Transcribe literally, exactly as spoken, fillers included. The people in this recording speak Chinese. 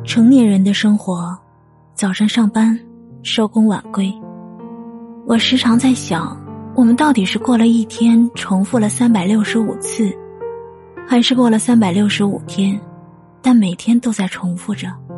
成年人的生活，早上上班，收工晚归。我时常在想，我们到底是过了一天重复了三百六十五次，还是过了三百六十五天，但每天都在重复着。